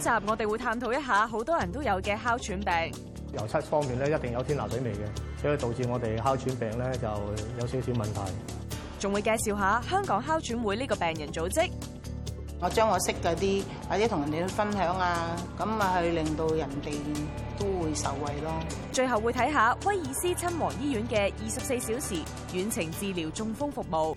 集我哋會探討一下好多人都有嘅哮喘病。 油漆方面咧，一定有天拿水味嘅，所以導致我哋哮喘病咧就有少少問題。 仲會介紹下香港哮喘會呢個病人組織。 我將我識嗰啲或者同人哋分享啊，咁啊去令到人哋都會受惠咯。 最後會睇下威爾斯親王醫院嘅24小時遠程治療中風服務。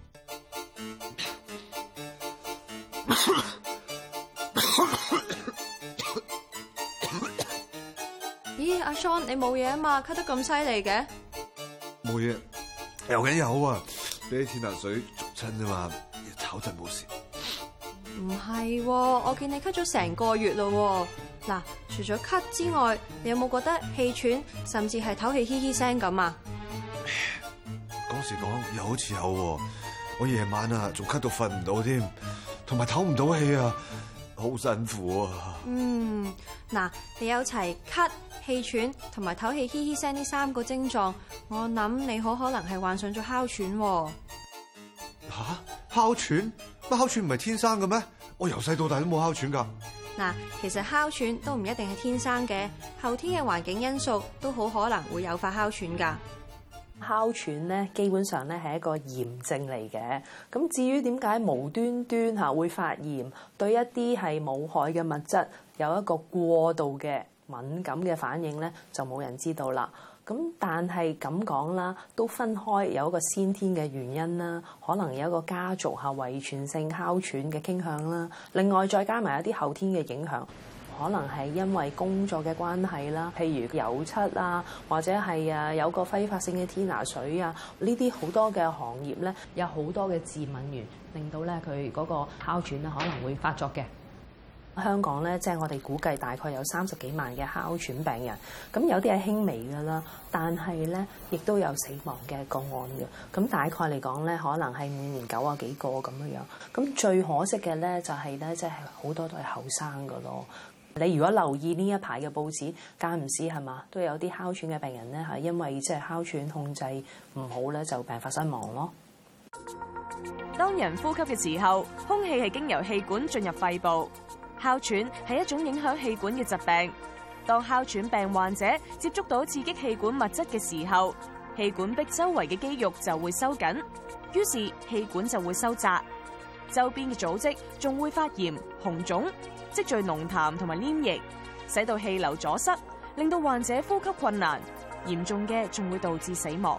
咦，阿 Sean 你冇嘢啊嘛？咳得咁犀利嘅？ 冇嘢，有嘅有啊，俾啲天拿水捉親啫嘛，炒陣冇事。 唔係喎，我見你咳咗成個月咯喎。嗱，除咗咳之外，你有冇覺得氣喘，甚至係唞氣嘻嘻聲咁啊？ 講時講又好似有喎，我夜晚啊仲咳到瞓唔到添，同埋唞唔到氣啊，好辛苦啊。 嗱，你有齊咳、氣喘同埋唞氣嘻嘻聲呢3個症狀，我諗你好可能係患上咗哮喘喎。 嚇？哮喘？乜哮喘唔係天生嘅咩？我由細到大都冇哮喘㗎。 嗱，其實哮喘都唔一定係天生嘅，後天嘅環境因素都好可能會誘發哮喘㗎。 哮喘咧，基本上咧係一個炎症嚟嘅。咁至於點解無端端嚇會發炎，對一啲係冇害嘅物質有一個過度嘅敏感嘅反應咧，就冇人知道啦。咁但係咁講啦，都分開有一個先天嘅原因啦，可能有一個家族嚇遺傳性哮喘嘅傾向啦。另外再加埋一啲後天嘅影響。可能係因為工作嘅關係啦，譬如油漆啊，或者係有個揮發性嘅天拿水啊，呢啲好多嘅行業咧，有好多嘅致敏源，令到咧佢嗰個哮喘咧可能會發作嘅。香港咧，即係我哋估計大概有30幾萬嘅哮喘病人，咁有啲係輕微㗎啦，但係咧亦都有死亡嘅個案嘅。咁大概嚟講咧，可能係每年90幾個咁樣樣。咁最可惜嘅咧就係咧，即係好多都係後生㗎咯。你如果留意呢一排嘅報紙，間唔時係嘛，都有啲哮喘嘅病人咧，係因為即係哮喘控制唔好咧，就病發身亡咯。 當人呼吸嘅時候，空氣係經由氣管進入肺部。哮喘係一種影響氣管嘅疾病。當哮喘病患者接觸到刺激氣管物質嘅時候，氣管壁周圍嘅肌肉就會收緊，於是氣管就會收窄，周邊嘅組織仲會發炎、紅腫，積聚濃痰同埋黏液，使到氣流阻塞，令到患者呼吸困難，嚴重嘅仲會導致死亡。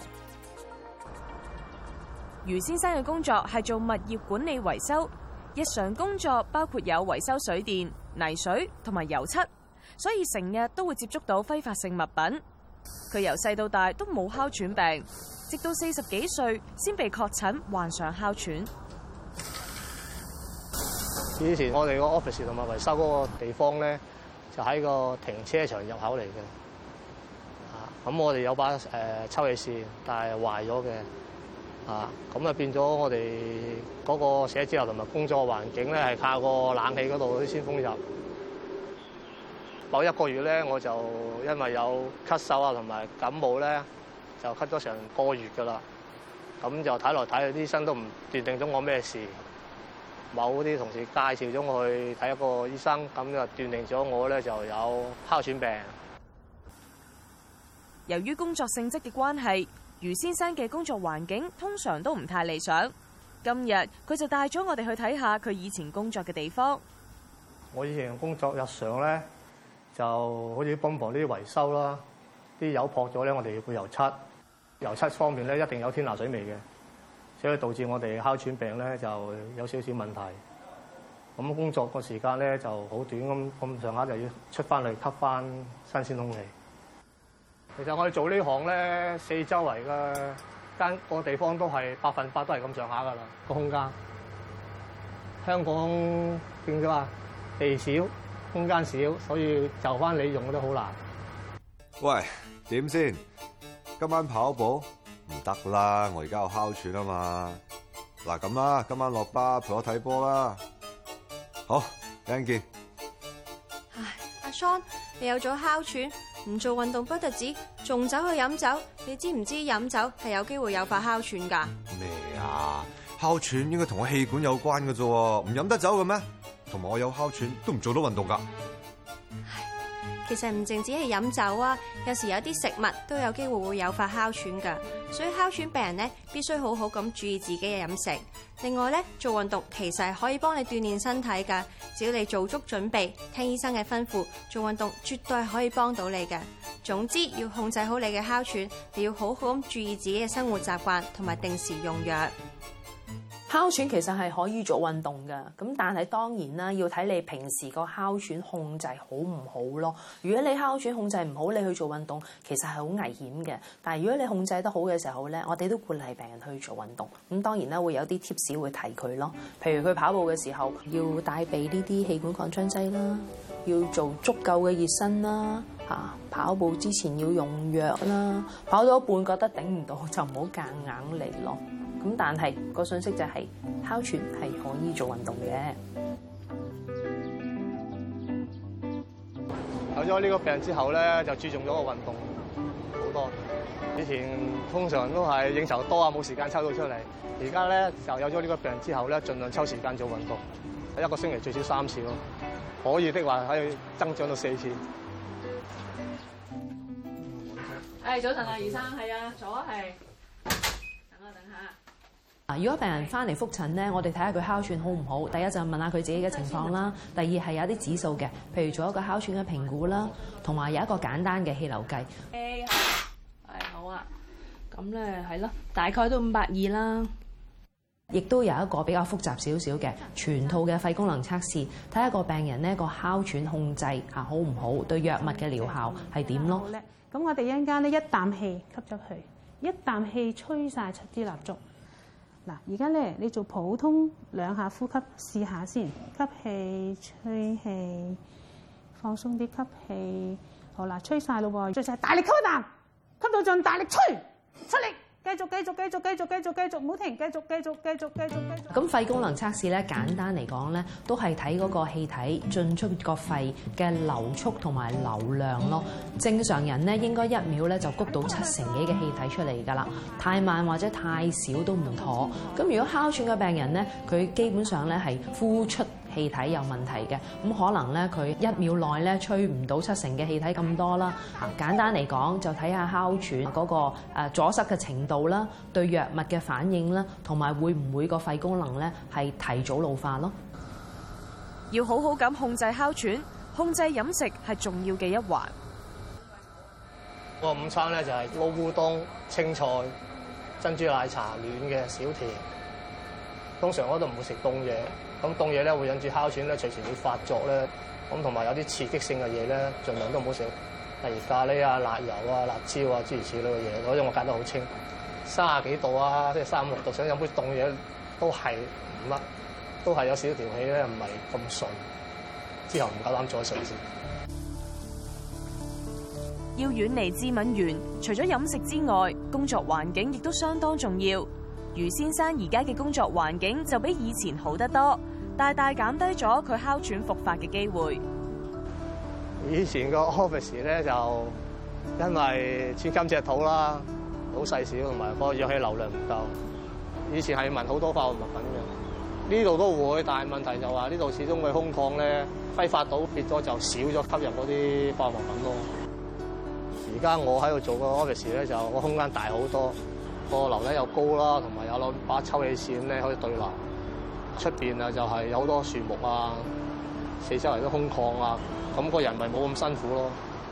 余先生嘅工作係做物業管理維修，日常工作包括有維修水電、泥水同埋油漆，所以成日都會接觸到揮發性物品。佢由細到大都冇哮喘病，直到40幾歲先被確診患上哮喘。 以前我哋個 office 同埋維修嗰個地方咧，就喺個停車場入口嚟嘅。咁我哋有把抽氣扇，但係壞咗嘅。咁啊變咗我哋嗰個寫字樓同埋工作環境咧，係靠個冷氣嗰度啲先風入。某1個月咧，我就因為有咳嗽啊同埋感冒咧，就咳咗成個月㗎啦。咁就睇來睇去，啲醫生都唔斷定咗我咩事。某啲同事介紹咗我去睇一個醫生，咁就斷定咗我咧就有哮喘病。 由於工作性質嘅關係，余先生嘅工作環境通常都唔太理想。今日佢就帶咗我哋去睇下佢以前工作嘅地方。 我以前工作日常咧，就好似泵房呢啲維修啦，啲油撲咗咧，我哋要配油漆。油漆方面咧，一定有天拿水味嘅。所以導致我哋哮喘病咧就有少少問題。咁工作個時間咧就好短，咁上下就要出翻嚟吸翻新鮮空氣。其實我哋做呢行咧，四周圍嘅間個地方都係100%都係咁上下噶啦，個空間。香港變咗話地少，空間少，所以就翻你用都好難。 喂，點先？今晚跑步？唔得啦，我而家有哮喘啊嘛。嗱咁啦，今晚落巴陪我睇波啦。好，一陣見。 唉，阿 Sean，你有咗哮喘，唔做運動不特止，仲走去飲酒。你知唔知飲酒係有機會誘發哮喘㗎？ 咩啊？哮喘應該同我氣管有關嘅啫，唔飲得酒嘅咩？ 同埋我有哮喘都唔做到運動㗎。 其實唔淨止係飲酒啊，有時有啲食物都有機會會誘發哮喘㗎，所以哮喘病人咧必須好好咁注意自己嘅飲食。另外咧，做運動其實係可以幫你鍛鍊身體㗎，只要你做足準備，聽醫生嘅吩咐，做運動絕對係可以幫到你㗎。總之要控制好你嘅哮喘，你要好好咁注意自己嘅生活習慣，同埋定時用藥。 哮喘其實係可以做運動㗎，咁但係當然啦，要睇你平時個哮喘控制好唔好咯。如果你哮喘控制唔好，你去做運動其實係好危險嘅。但係如果你控制得好嘅時候咧，我哋都鼓勵病人去做運動。咁當然啦，會有啲 tips 會提佢咯，譬如佢跑步嘅時候要帶備呢啲氣管擴張劑啦，要做足夠嘅熱身啦，跑步之前要用藥啦，跑到一半覺得頂唔到就唔好夾硬嚟咯。咁但係個信息就係哮喘係可以做運動嘅。 有咗呢個病之後咧，就注重咗個運動好多。以前通常都係應酬多啊，冇時間抽到出嚟。而家咧就有咗呢個病之後咧，盡量抽時間做運動，一個星期最少3次咯。可以的話可以增長到4次。 早晨啊，余生，係啊，左係。等下。如果病人翻嚟覆診咧，我哋睇下佢哮喘好唔好。第一就問下佢自己嘅情況啦。第二係有啲指數嘅，譬如做一個哮喘嘅評估啦，同埋有一個簡單嘅氣流計。好啊。咁咧係咯，大概都520啦。亦都有一個比較複雜少少嘅全套嘅肺功能測試，睇下個病人呢個哮喘控制好唔好，對藥物嘅療效係點咯。 咁我哋一陣間咧一啖氣吸咗去，一啖氣吹晒7支蠟燭。嗱，而家咧你做普通2下呼吸試下先，吸氣、吹氣，放鬆啲吸氣。好啦，吹晒咯喎，最晒大力吸一啖，吸到盡，大力吹，出力。繼續，唔好停，繼續。 咁肺功能測試咧，簡單嚟講咧，都係睇嗰個氣體進出個肺嘅流速同埋流量咯。正常人咧應該1秒咧就谷到7成幾嘅氣體出嚟㗎啦，太慢或者太少都唔妥。咁如果哮喘嘅病人咧，佢基本上咧係呼出氣體有問題嘅，咁可能咧佢1秒內咧吹唔到7成嘅氣體咁多啦。簡單嚟講，就睇下哮喘嗰個阻塞嘅程度啦，對藥物嘅反應啦，同埋會唔會個肺功能咧係提早老化咯。 要好好咁控制哮喘，控制飲食係重要嘅一環。 個午餐咧就係撈烏冬、青菜、珍珠奶茶、暖嘅小甜。通常我都唔會食凍嘢。咁凍嘢咧會引致哮喘咧，隨時會發作咧。咁同埋有啲刺激性嘅嘢咧，盡量都唔好食，例如咖喱啊、辣油啊、辣椒啊諸如此類嘅嘢。嗰啲我戒得好清，30幾度啊，即係36度，想飲杯凍嘢都係唔得，都係有少少條氣咧，唔係咁順。之後唔夠膽再食先。 要遠離致敏源，除咗飲食之外，工作環境亦都相當重要。余先生而家嘅工作環境就比以前好得多，大大減低咗佢哮喘復發嘅機會。 以前個 office 咧就因為寸金尺土啦，好細小，同埋個氧氣流量唔夠。以前係聞好多化學物品嘅，呢度都會，但係問題就話呢度始終嘅空曠咧，揮發到變咗就少咗吸入嗰啲化學物品咯。而家我喺度做個 office 咧，就個空間大好多。個樓底又高啦，同埋有把抽氣扇咧可以對流。出邊啊就係有好多樹木啊，四周圍都空曠啊，咁個人咪冇咁辛苦咯。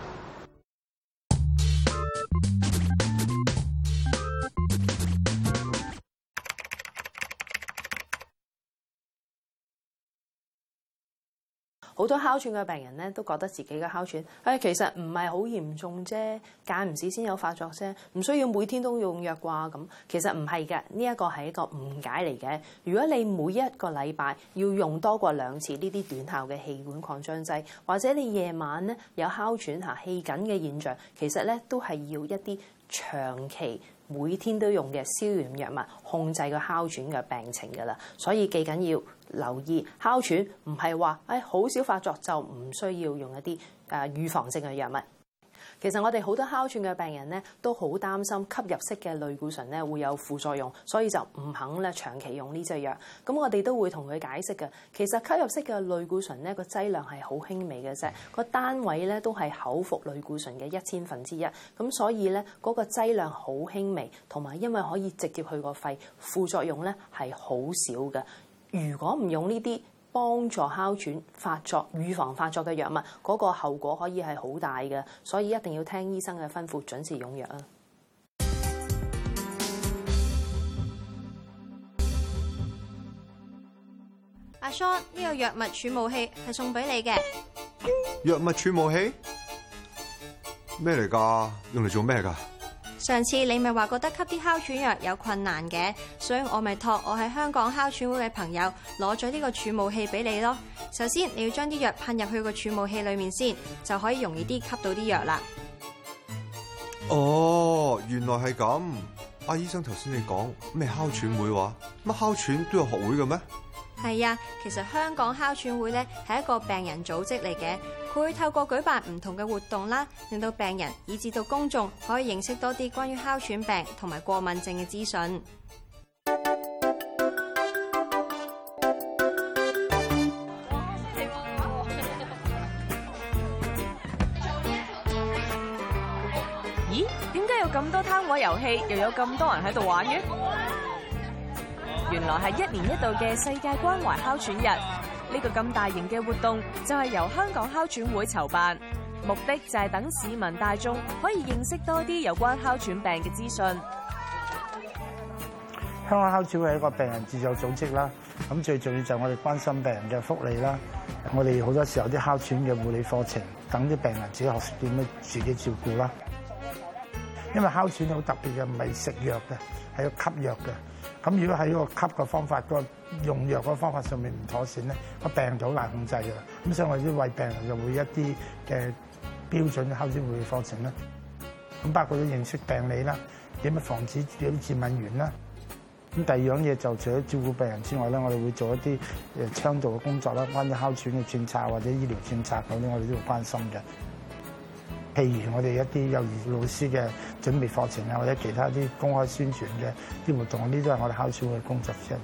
好多哮喘嘅病人咧都覺得自己嘅哮喘，其實唔係好嚴重啫，間唔時先有發作啫，唔需要每天都用藥啩咁。其實唔係嘅，呢一個係一個誤解嚟嘅。如果你每一個禮拜要用多過2次呢啲短效嘅氣管擴張劑，或者你夜晚咧有哮喘氣緊嘅現象，其實咧都係要一啲長期每天都用嘅消炎藥物控制個哮喘嘅病情㗎啦。所以記緊要留意哮喘唔係話好少發作就唔需要用一啲預防性嘅藥物。 其實我哋好多哮喘嘅病人咧，都好擔心吸入式嘅類固醇咧會有副作用，所以就唔肯咧長期用呢隻藥。咁我哋都會同佢解釋嘅，其實吸入式嘅類固醇咧個劑量係好輕微嘅啫，個單位咧都係口服類固醇嘅1/1000，咁所以咧嗰個劑量好輕微，同埋因為可以直接去個肺，副作用咧係好少嘅。如果唔用呢啲幫助哮喘發作、預防發作嘅藥物，嗰個後果可以係好大嘅，所以一定要聽醫生嘅吩咐，準時用藥啊！ 阿 Sean， 呢個藥物儲霧器係送俾你嘅。 藥物儲霧器咩嚟㗎？用嚟做咩㗎？ 上次你咪話覺得吸啲哮喘藥有困難嘅，所以我咪託我喺香港哮喘會嘅朋友攞咗呢個儲霧器俾你咯。首先你要將啲藥噴入去個儲霧器裏面先，就可以容易啲吸到啲藥啦。 哦，原來係咁。阿醫生頭先你講咩哮喘會話？乜哮喘都有學會嘅咩？ 係啊，其實香港哮喘會咧係一個病人組織嚟嘅，佢會透過舉辦唔同嘅活動啦，令到病人以至到公眾可以認識多啲關於哮喘病同埋過敏症嘅資訊。 咦？點解有咁多攤位遊戲，又有咁多人喺度玩嘅？原來係1年1度嘅世界關懷哮喘日，呢個咁大型嘅活動就係由香港哮喘會籌辦，目的就係等市民大眾可以認識多啲有關哮喘病嘅資訊。 香港哮喘會係一個病人自助組織啦，咁最重要就係我哋關心病人嘅福利啦。我哋好多時候啲哮喘嘅護理課程，等啲病人自己學識點樣自己照顧啦。因為哮喘好特別嘅，唔係食藥嘅，係要吸藥嘅。咁如果喺個吸嘅方法、個用藥嘅方法上面唔妥善咧，個病人就好難控制㗎啦。咁所以我哋為病人就會一啲嘅標準哮喘護理課程啦。咁包括咗認識病理啦，點樣防止有啲致敏源啦。咁第二樣嘢就除咗照顧病人之外咧，我哋會做一啲倡導嘅工作啦，關於哮喘嘅政策或者醫療政策嗰啲，我哋都會關心嘅。譬如我哋一啲幼兒老師嘅準備課程啊，或者其他啲公開宣傳嘅啲活動，呢啲都係我哋哮喘會嘅工作之一嚟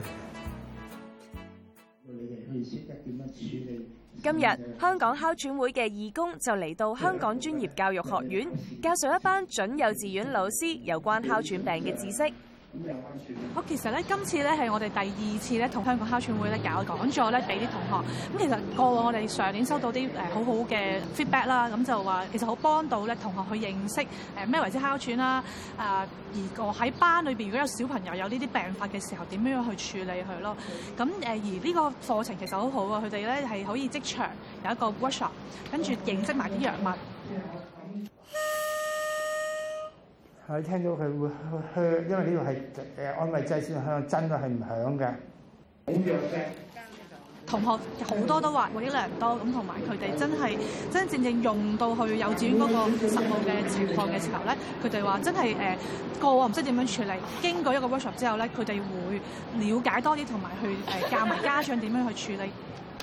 嘅。你哋去識得點樣處理？ 今日香港哮喘會嘅義工就嚟到香港專業教育學院，教授一班準幼稚園老師有關哮喘病嘅知識。 好，其實咧，今次咧係我哋第2次咧同香港哮喘會咧搞講座咧，俾啲同學。咁其實過往我哋上年收到啲好好嘅 feedback 啦，咁就話其實好幫到咧同學去認識咩為之哮喘啦。而我喺班裏邊如果有小朋友有呢啲病發嘅時候，點樣去處理佢咯？咁而呢個課程其實好好啊，佢哋咧係可以即場有一個 workshop， 跟住認識埋啲藥物。 我聽到佢會響，因為呢個係安慰劑先響，真嘅係唔響嘅。好弱嘅同學好多都話獲益良多，咁同埋佢哋真正用到去幼稚園嗰個實務嘅情況嘅時候咧，佢哋話真係個我唔識點樣處理。經過一個 workshop 之後咧，佢哋會了解多啲，同埋去教埋家長點樣去處理。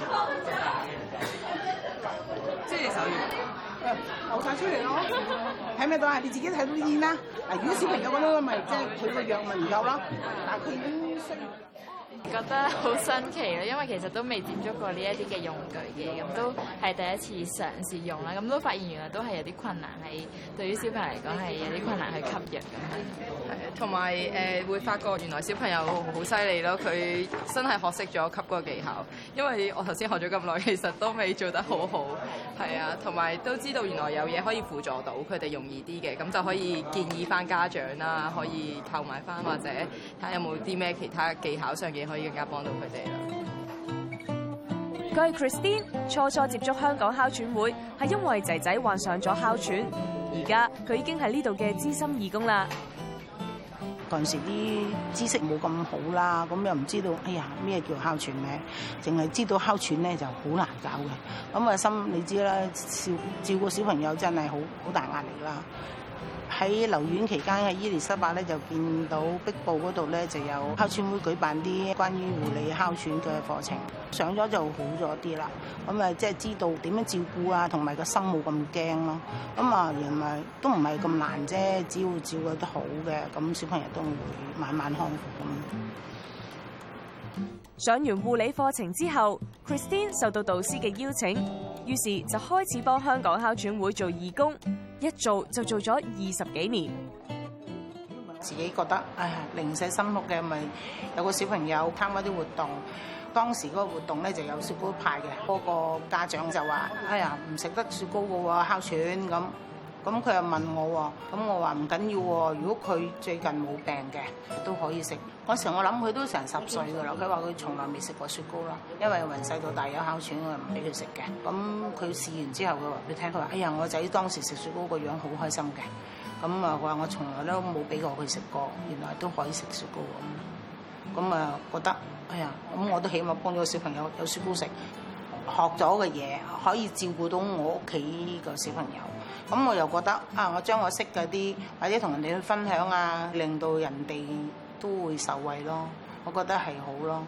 即係手語。流晒出嚟咯，睇咩到啊？你自己睇到煙啦。嗱，如果小朋友嗰啲咪即係佢個藥咪唔夠咯，但係佢已經需要。 覺得好新奇咯，因為其實都未接觸過呢一啲嘅用具嘅，咁都係第一次嘗試用啦，咁都發現原來都係有啲困難，係對於小朋友嚟講係有啲困難去吸藥咁樣。 同埋會發覺原來小朋友好犀利咯，佢真係學識咗吸嗰個技巧，因為我頭先學咗咁耐，其實都未做得好好。係啊，同埋都知道原來有嘢可以輔助到佢哋容易啲嘅，咁就可以建議翻家長啦，可以購買翻或者睇下有冇啲咩其他技巧上嘅可以更加幫到佢哋啦。 佢係 Christine， 初接觸香港哮喘會係因為仔仔患上咗哮喘，而家佢已經係呢度嘅資深義工啦。 嗰陣時啲知識冇咁好啦，咁又唔知道，哎呀咩叫哮喘咧？淨係知道哮喘咧就好難搞嘅。咁啊心你知啦，照顧小朋友真係好大壓力啦。 喺留院期間喺伊利沙伯咧，就見到壁報嗰度咧就有哮喘會舉辦啲關於護理哮喘嘅課程，上咗就好咗啲啦。咁啊，即係知道點樣照顧啊，同埋個心冇咁驚咯。咁啊，原來都唔係咁難啫，只要照顧得好嘅，咁小朋友都會慢慢康復咁。 上完護理課程之後 ，Christine 受到導師嘅邀請，於是就開始幫香港哮喘會做義工，一做就做咗20幾年。 自己覺得哎呀零舍辛苦嘅，咪有個小朋友參加啲活動，當時嗰個活動咧就有雪糕派嘅，嗰個家長就話：哎呀唔食得雪糕嘅喎，哮喘咁。咁佢又問我喎，咁我話唔緊要喎，如果佢最近冇病嘅都可以食。嗰時我諗佢都成10歲㗎啦，佢話佢從來未食過雪糕啦，因為由細到大有哮喘，我又唔俾佢食嘅。咁佢試完之後，佢話俾你聽，佢話：哎呀，我仔當時食雪糕個樣好開心嘅。咁啊，佢話我從來都冇俾過佢食過，原來都可以食雪糕咁。咁啊，覺得哎呀，咁我都起碼幫咗個小朋友有雪糕食，學咗嘅嘢可以照顧到我屋企個小朋友。咁我又覺得啊，我將我識嗰啲或者同人哋去分享啊，令到人哋都會受惠咯。我覺得係好咯。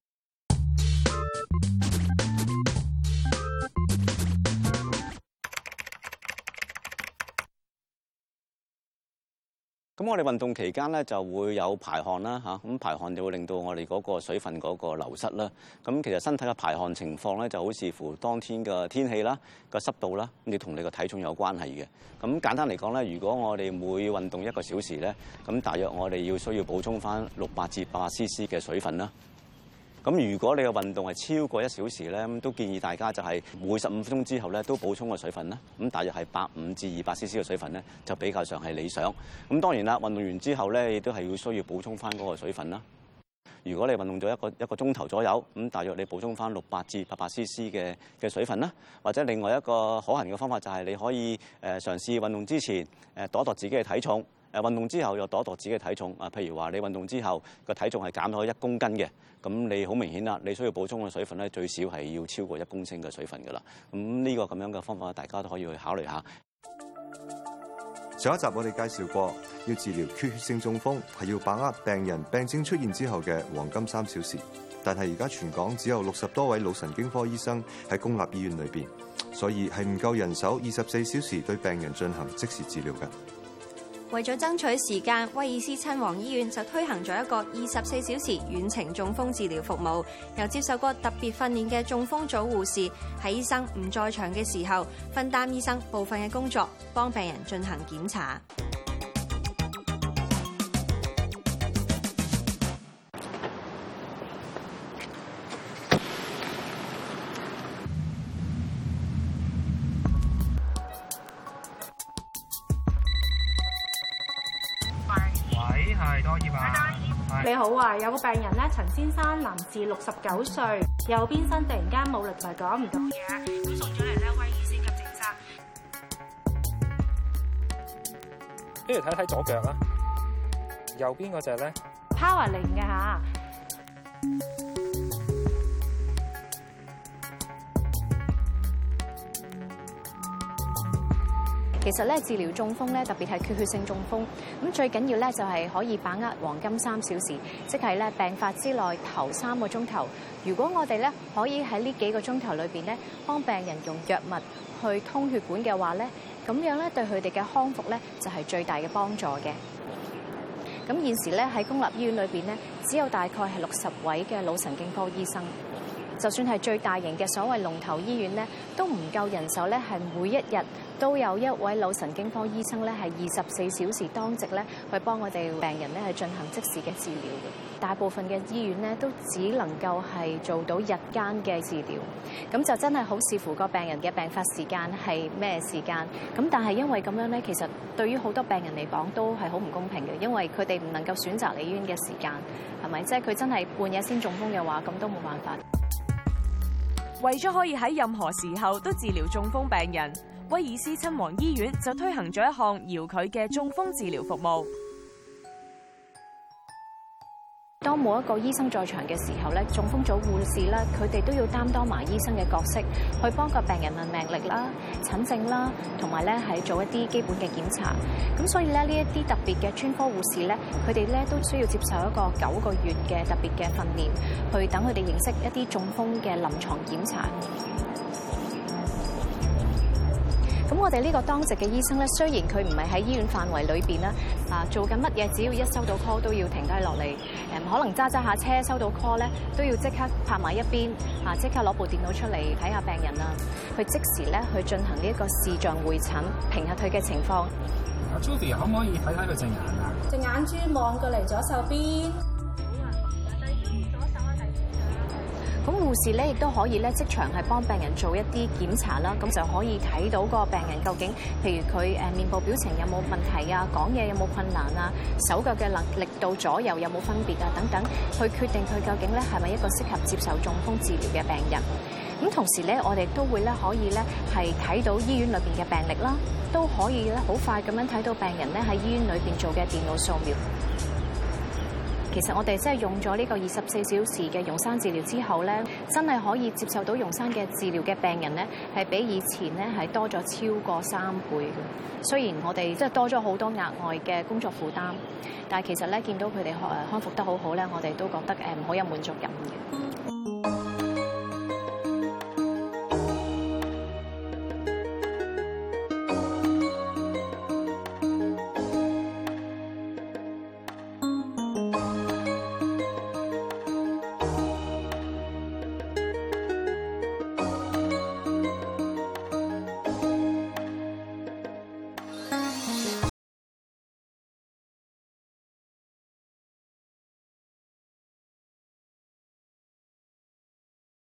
咁我哋運動期間咧就會有排汗啦嚇，咁排汗就會令到我哋嗰個水分嗰個流失啦。咁其實身體嘅排汗情況咧就好視乎當天嘅天氣啦、個濕度啦，咁你同你個體重有關係嘅。咁簡單嚟講咧，如果我哋每運動1個小時咧，咁大約我哋需要補充翻600至800 cc 嘅水分啦。咁如果你嘅運動係超過1小時咧，咁都建議大家就係每15分鐘之後咧都補充個水分啦。咁大約係150至200 cc 嘅水分咧，就比較上係理想。咁當然啦，運動完之後咧，亦都係需要補充翻嗰個水分啦。如果你運動咗一個鐘頭左右，咁大約你補充翻600至800 cc 嘅水分啦。或者另外一個可行嘅方法就係你可以嘗試運動之前度一度自己嘅體重。運動之後又度一度自己嘅體重啊，譬如話你運動之後個體重係減咗1公斤嘅，咁你好明顯啦，你需要補充嘅水分咧最少係要超過1公升嘅水分㗎啦。咁呢個咁樣嘅方法，大家都可以去考慮下。 上一集我哋介紹過，要治療缺血性中風係要把握病人病症出現之後嘅黃金3小時，但係而家全港只有60多位腦神經科醫生喺公立醫院裏邊，所以係唔夠人手24小時對病人進行即時治療嘅。 為咗爭取時間，威爾斯親王醫院就推行咗一個24小時遠程中風治療服務，由接受過特別訓練嘅中風組護士喺醫生唔在場嘅時候，分擔醫生部分嘅工作，幫病人進行檢查。 你好啊，有個病人咧，陳先生，男士，69歲，右邊身突然間冇力同埋講唔到嘢，咁送咗嚟咧威爾斯急症室。 不如睇睇左腳啦，右邊嗰隻咧 Powerling 嘅嚇。 其實咧，治療中風咧，特別係缺血性中風，咁最緊要咧就係可以把握黃金3小時，即係咧病發之內頭3個鐘頭。如果我哋咧可以喺呢幾個鐘頭裏邊咧，幫病人用藥物去通血管嘅話咧，咁樣咧對佢哋嘅康復咧就係最大嘅幫助嘅。咁現時咧喺公立醫院裏邊咧，只有大概係60位嘅腦神經科醫生。就算係最大型嘅所謂龍頭醫院咧，都唔夠人手咧，係每一日都有一位腦神經科醫生咧，係24小時當值咧，去幫我哋病人咧係進行即時嘅治療嘅。大部分嘅醫院咧都只能夠係做到日間嘅治療，咁就真係好視乎個病人嘅病發時間係咩時間。咁但係因為咁樣咧，其實對於好多病人嚟講都係好唔公平嘅，因為佢哋唔能夠選擇嚟醫院嘅時間，係咪？即係佢真係半夜先中風嘅話，咁都冇辦法。 為咗可以喺任何時候都治療中風病人，威爾斯親王醫院就推行咗一項遙距嘅中風治療服務。 當冇一個醫生在場嘅時候咧，中風組護士咧，佢哋都要擔當埋醫生嘅角色，去幫個病人問病歷啦、診症啦，同埋咧係做一啲基本嘅檢查。咁所以咧，呢一啲特別嘅專科護士咧，佢哋咧都需要接受一個9個月嘅特別嘅訓練，去等佢哋認識一啲中風嘅臨床檢查。咁我哋呢個當值嘅醫生咧，雖然佢唔係喺醫院範圍裏邊啦，做緊乜嘢，只要一收到 call 都要停低落嚟，可能揸下車收到 call 咧，都要即刻拍埋一邊，即刻攞部電腦出嚟睇下病人啊，去即時咧去進行呢一個視像會診，評下佢嘅情況。 阿 Judy 可唔可以睇睇佢隻眼啊？ 隻眼珠望過嚟左手邊。 咁護士咧亦都可以咧即場係幫病人做一啲檢查啦，咁就可以睇到個病人究竟，譬如佢面部表情有冇問題啊，講嘢有冇困難啊，手腳嘅力度左右有冇分別啊等等，去決定佢究竟咧係咪一個適合接受中風治療嘅病人。咁同時咧，我哋都會咧可以咧係睇到醫院裏邊嘅病歷啦，都可以咧好快咁樣睇到病人咧喺醫院裏邊做嘅電腦掃描。其實我哋真係用咗呢個24小時嘅溶栓治療之後咧，真係可以接受到溶栓嘅治療嘅病人咧，係比以前咧係多咗超過3倍嘅。雖然我哋即係多咗好多額外嘅工作負擔，但係其實咧見到佢哋康復得好好咧，我哋都覺得好有滿足感嘅。